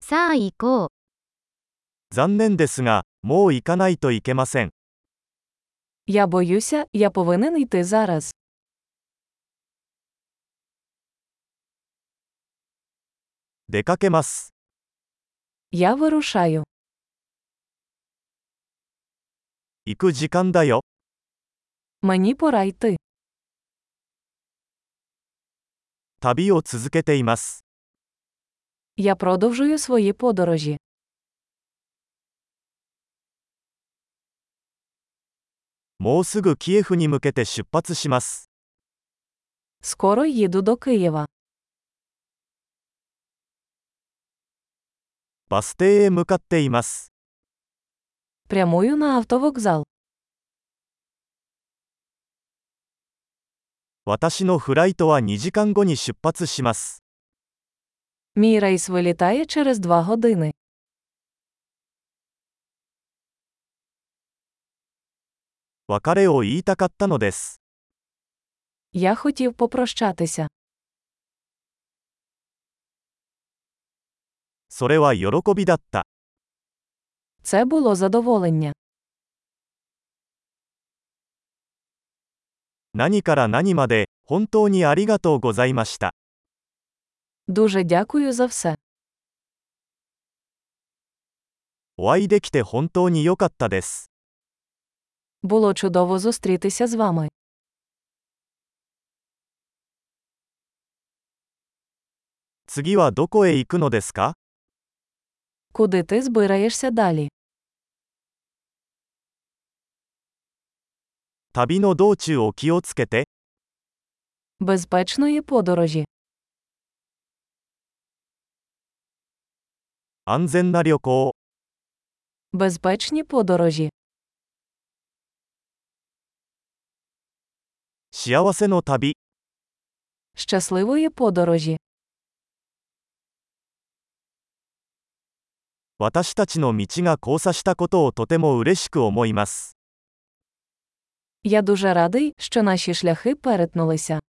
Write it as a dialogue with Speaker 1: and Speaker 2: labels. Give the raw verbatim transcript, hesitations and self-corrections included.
Speaker 1: さあ行こう。
Speaker 2: 残念ですが、もう行かないといけません。
Speaker 3: Я боюся, я повинен йти зараз.
Speaker 2: 出かけます。
Speaker 3: Я вирушаю.
Speaker 2: 行く時間だよ。
Speaker 3: Мені пора йти.
Speaker 2: 旅を続けています。
Speaker 3: Я продовжую свої подорожі.
Speaker 2: もうすぐキエフに向けて出発します。
Speaker 3: Скоро їду до Києва.
Speaker 2: バス停へ向かっています。
Speaker 3: Прямую на автовокзал.
Speaker 2: 私のフライトはにじかんごに出発します。
Speaker 3: Мій рейс вилітає через два години.
Speaker 2: 別れを言いたかったのです。
Speaker 3: Я хотів попрощатися.
Speaker 2: それは喜びだった。
Speaker 3: Це було задоволення.
Speaker 2: 何から何まで、本当にありがとうございました。
Speaker 3: Дуже дякую за все.
Speaker 2: お会いできて本当に良かったです。
Speaker 3: Було чудово зустрітися з вами.
Speaker 2: 次はどこへ行くのですか?
Speaker 3: Куди ти збираєшся далі?
Speaker 2: 旅の道中を気をつけて。
Speaker 3: Безпечної подорожі.
Speaker 2: 安全な旅行。
Speaker 3: Безпечні подорожі.
Speaker 2: 幸せの旅。
Speaker 3: Щасливої подорожі.
Speaker 2: 私たちの道が交差したことをとても嬉しく思います。
Speaker 3: Я дуже радий, що наші шляхи перетнулися.